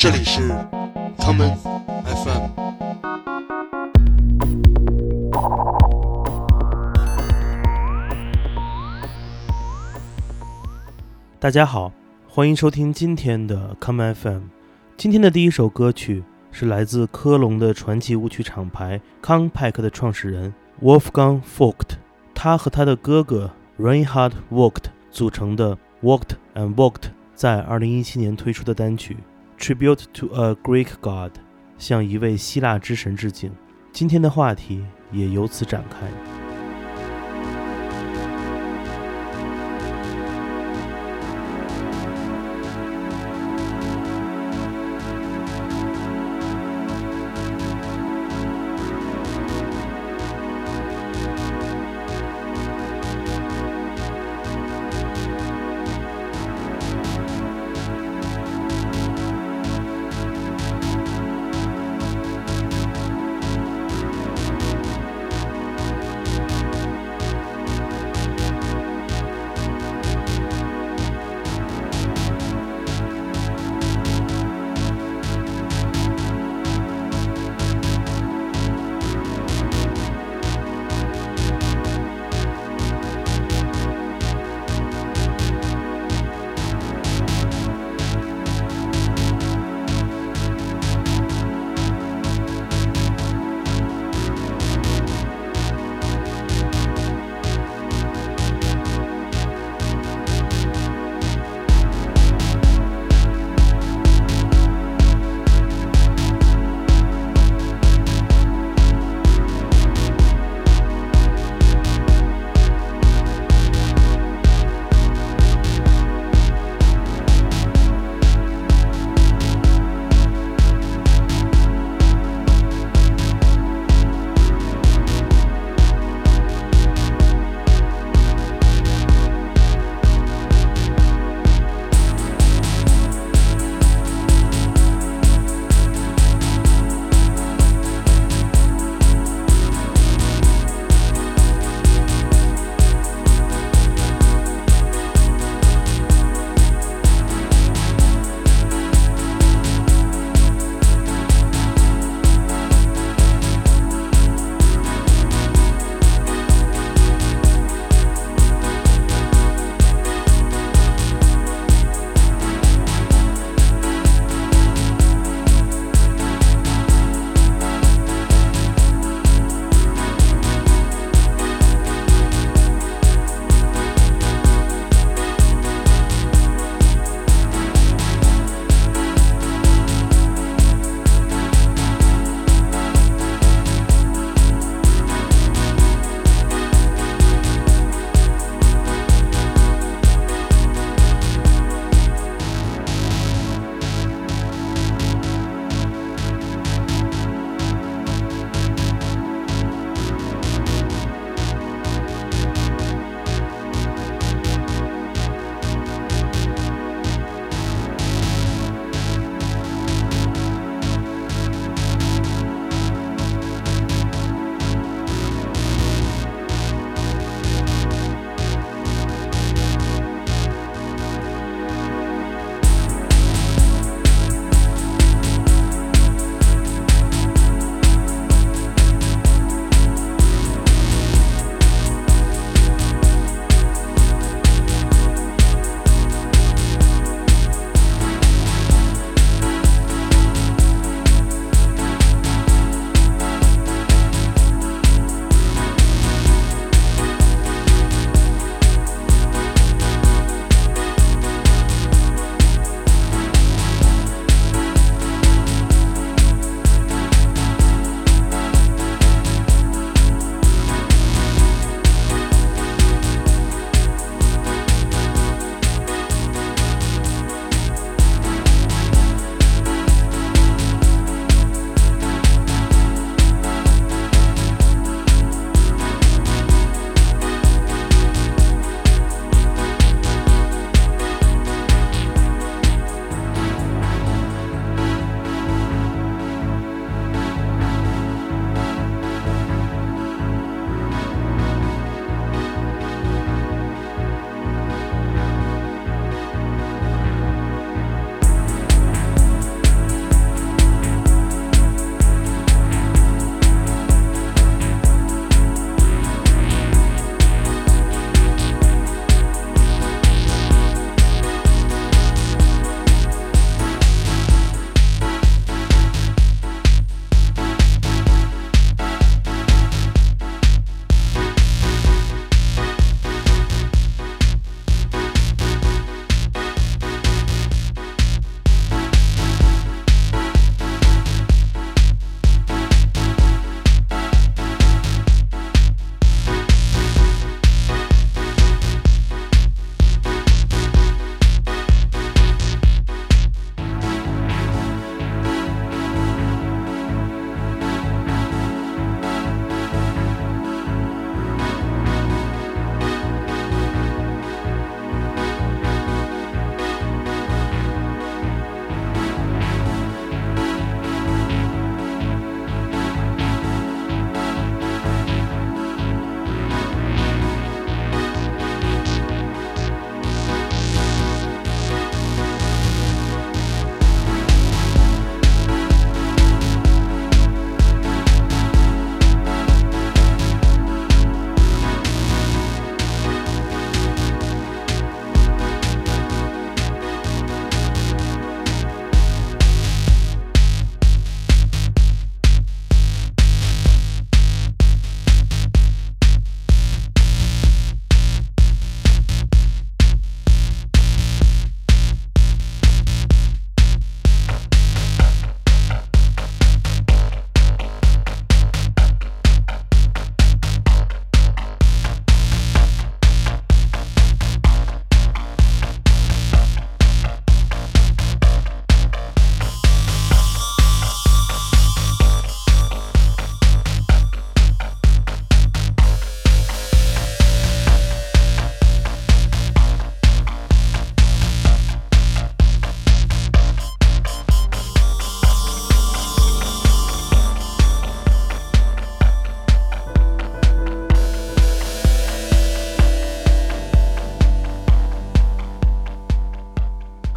这里是 Common FM。 大家好，欢迎收听今天的 Common FM。今天的第一首歌曲是来自科隆的传奇舞曲厂牌康派克的创始人 Wolfgang Vogt， 他和他的哥哥 Reinhard Vogt 组成的 Vogt and Vogt 在2017年推出的单曲 Tribute to a Greek God， 向一位希腊之神致敬。今天的话题也由此展开。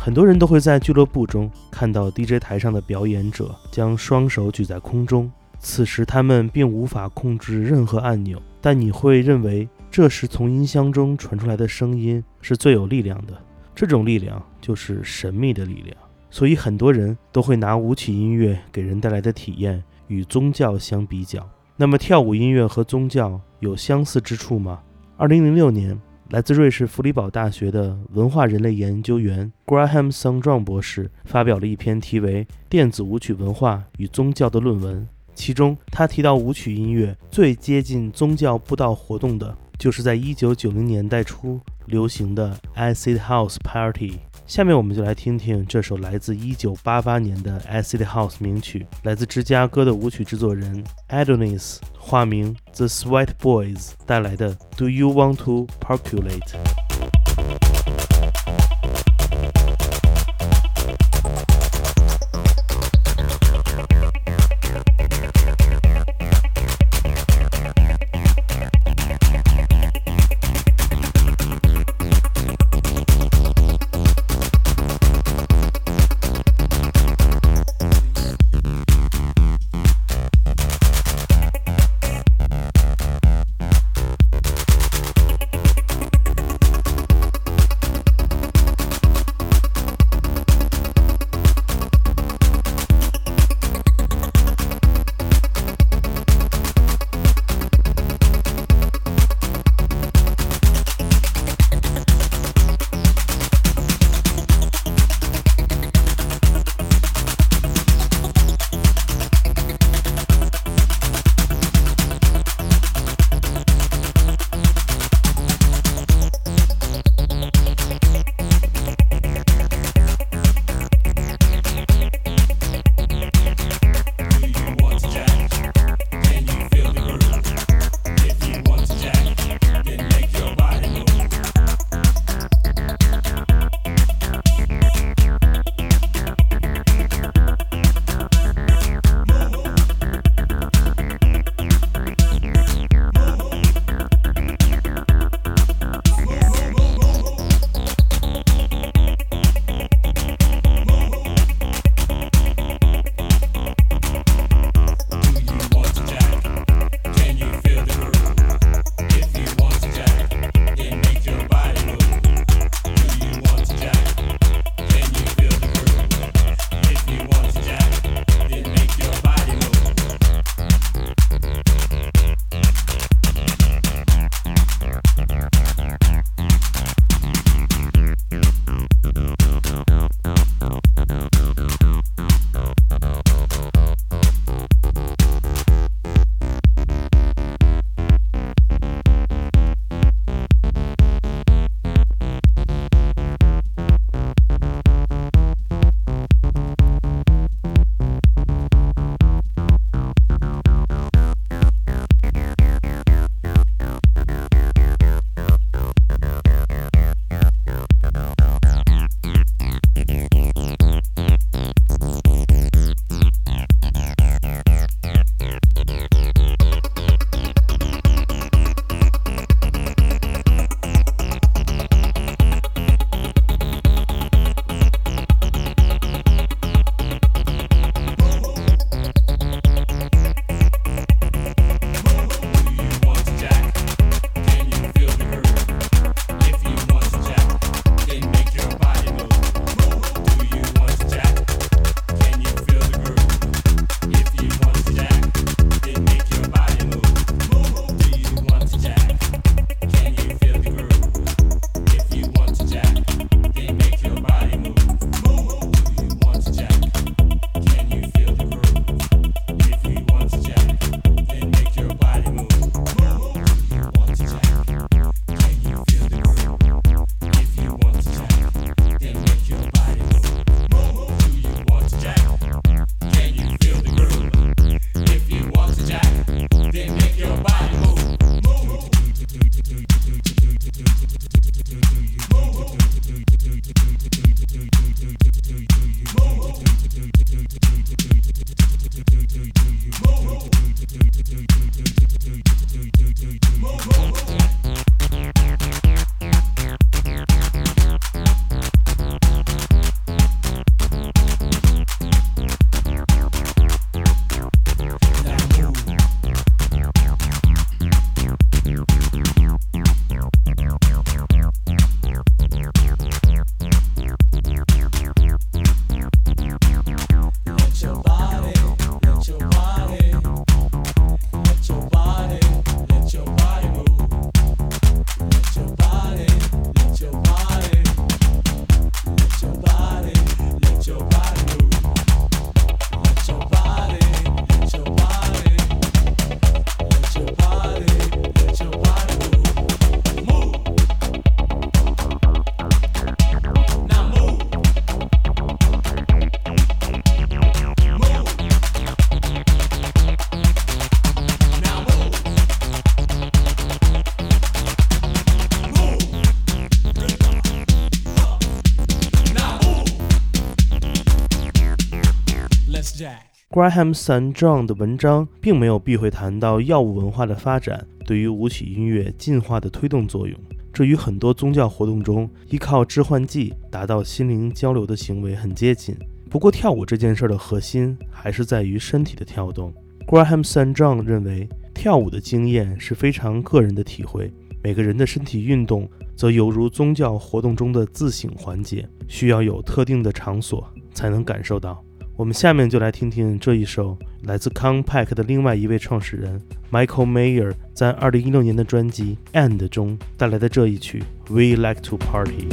很多人都会在俱乐部中看到 DJ 台上的表演者将双手举在空中，此时他们并无法控制任何按钮，但你会认为这时从音箱中传出来的声音是最有力量的，这种力量就是神秘的力量。所以很多人都会拿舞曲音乐给人带来的体验与宗教相比较。那么跳舞音乐和宗教有相似之处吗？2006年，来自瑞士弗里堡大学的文化人类研究员 Graham Sundrum 博士发表了一篇题为《电子舞曲文化与宗教》的论文，其中他提到舞曲音乐最接近宗教布道活动的就是在1990年代初流行的 Acid House Party。 下面我们就来听听这首来自1988年的 Acid House 名曲，来自芝加哥的舞曲制作人 Adonis 化名 The Sweat Boys 带来的 Do You Want to Percolate。 Graham San John 的文章并没有避讳谈到药物文化的发展对于舞曲音乐进化的推动作用，这与很多宗教活动中依靠致幻剂达到心灵交流的行为很接近。不过跳舞这件事的核心还是在于身体的跳动。Graham San John 认为跳舞的经验是非常个人的体会，每个人的身体运动则犹如宗教活动中的自省环节，需要有特定的场所才能感受到。我们下面就来听听这一首来自 Compaq 的另外一位创始人 Michael Mayer 在2016年的专辑 And 中带来的这一曲 We Like to Party。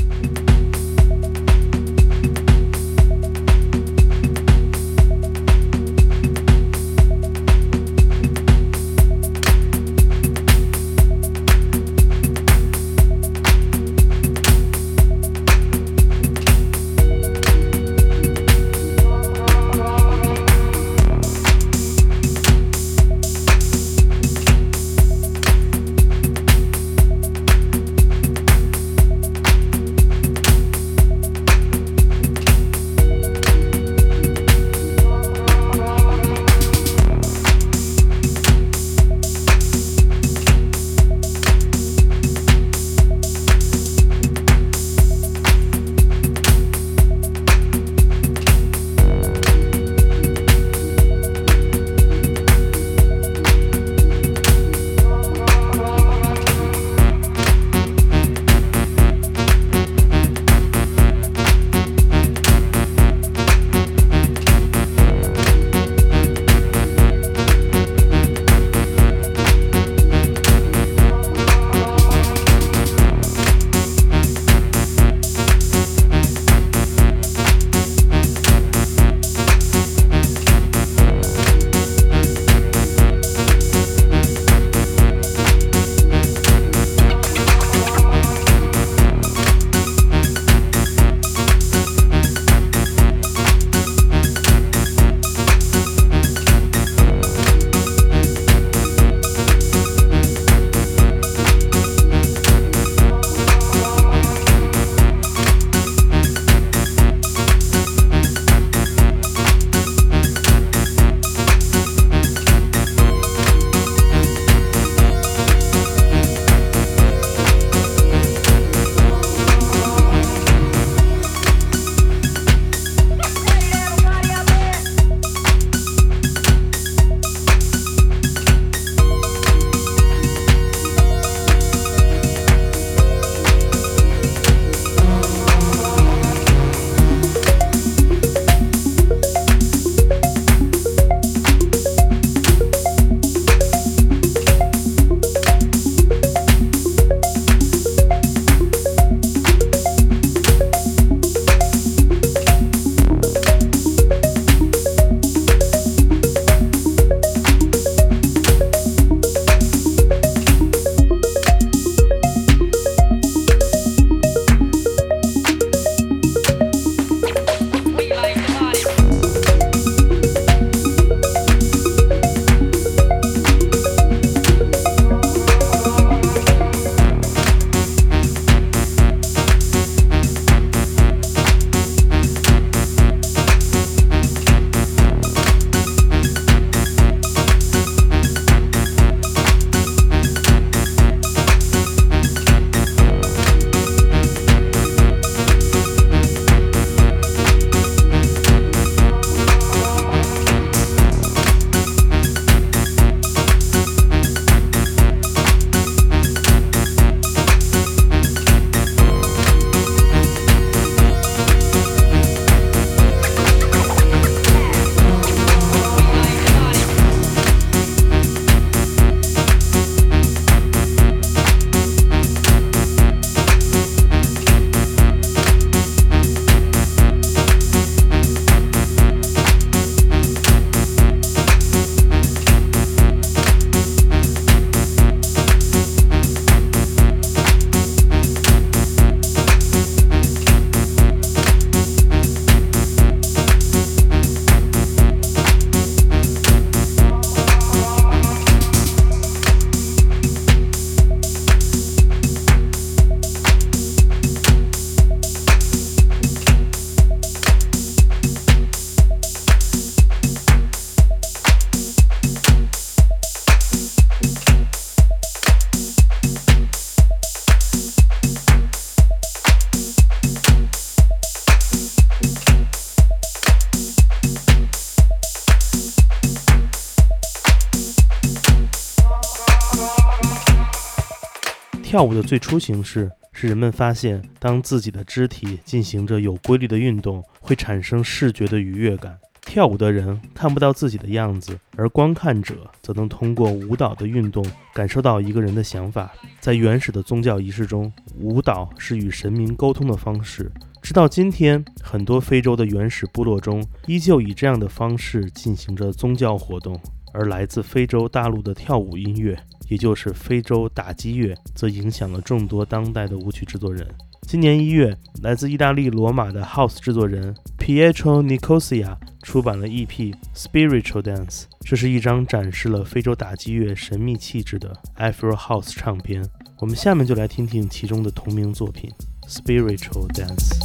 跳舞的最初形式是人们发现，当自己的肢体进行着有规律的运动，会产生视觉的愉悦感。跳舞的人看不到自己的样子，而观看者则能通过舞蹈的运动感受到一个人的想法。在原始的宗教仪式中，舞蹈是与神明沟通的方式。直到今天，很多非洲的原始部落中依旧以这样的方式进行着宗教活动。而来自非洲大陆的跳舞音乐，也就是非洲打击乐，则影响了众多当代的舞曲制作人。今年1月，来自意大利罗马的 House 制作人 Pietro Nicosia 出版了 EP Spiritual Dance， 这是一张展示了非洲打击乐神秘气质的 Afro House 唱片。我们下面就来听听其中的同名作品 Spiritual Dance。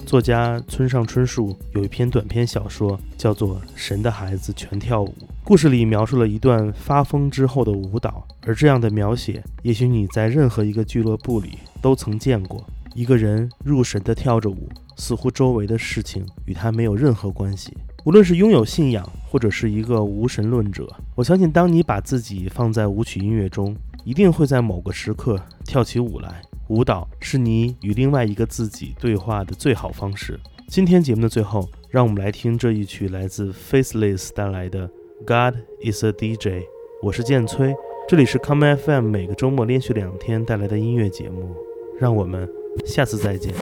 作家村上春树有一篇短篇小说叫做《神的孩子全跳舞》，故事里描述了一段发疯之后的舞蹈，而这样的描写也许你在任何一个俱乐部里都曾见过。一个人入神地跳着舞，似乎周围的事情与他没有任何关系。无论是拥有信仰或者是一个无神论者，我相信当你把自己放在舞曲音乐中，一定会在某个时刻跳起舞来。舞蹈是你与另外一个自己对话的最好方式。今天节目的最后，让我们来听这一曲来自 Faceless 带来的 God is a DJ。 我是建崔，这里是 Come FM 每个周末连续2天带来的音乐节目，让我们下次再见。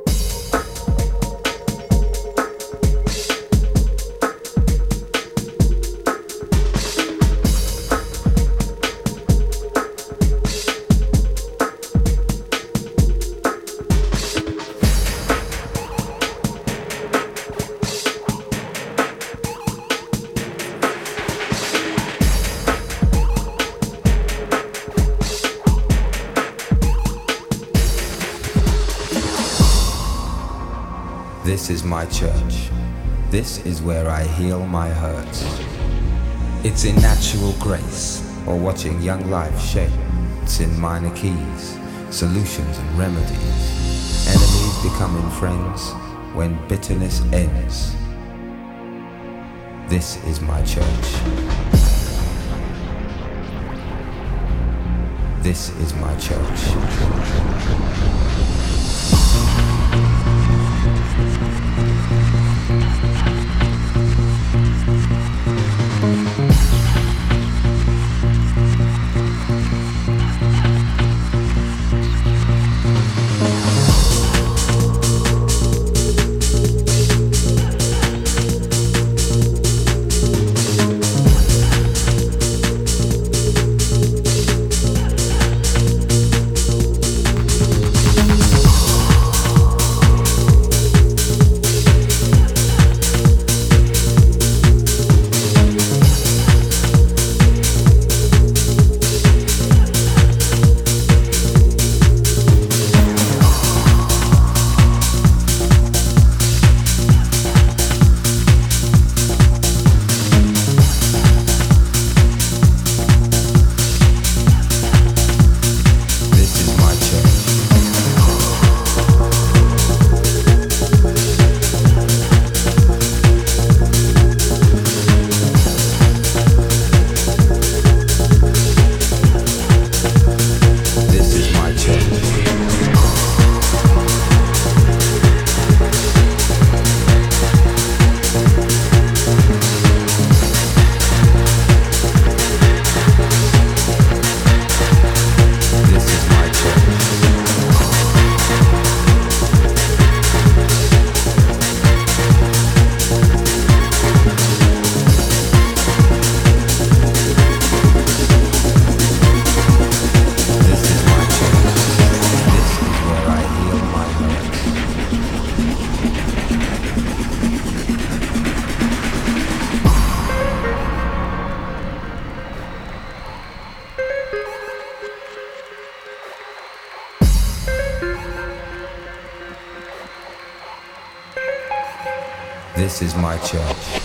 This is my church. This is where I heal my hurts. It's in natural grace, or watching young life shape. It's in minor keys, solutions and remedies. Enemies becoming friends when bitterness ends. This is my church. This is my church. This is my church.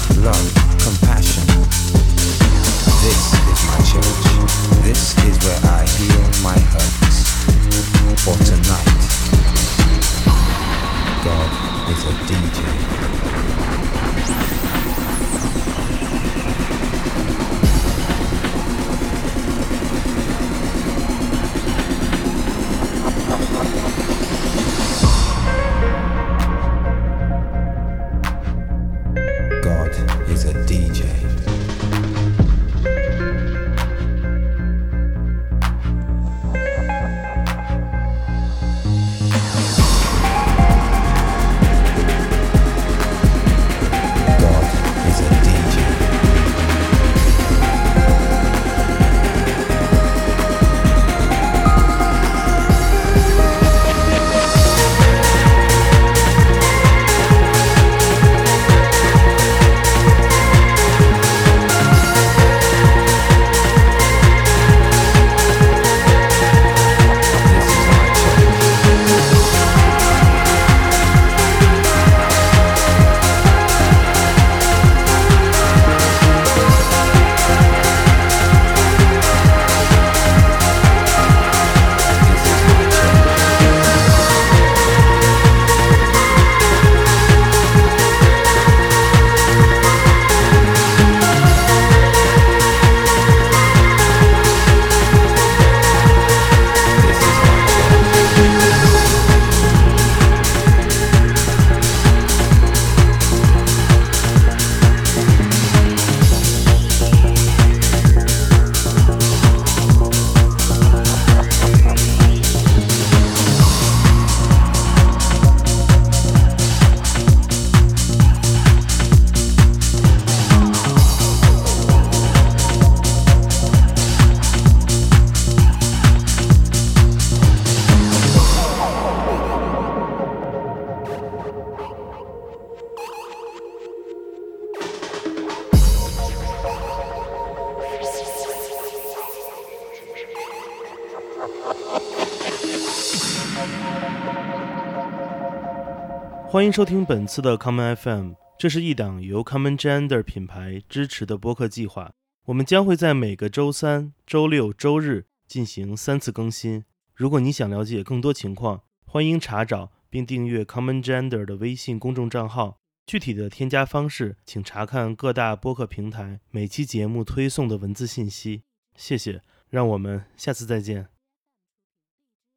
love, compassion. This is my church. This is where I heal my hurts. For tonight, God is a DJ. God is a DJ. God is a DJ. This is my church. This is my church. This is my church. 欢迎收听本次的 Common FM， 这是一档由 Common Gender 品牌支持的播客计划。我们将会在每个周三、周六、周日进行3次更新。如果你想了解更多情况，欢迎查找并订阅 Common Gender 的微信公众账号。具体的添加方式，请查看各大播客平台每期节目推送的文字信息。谢谢，让我们下次再见。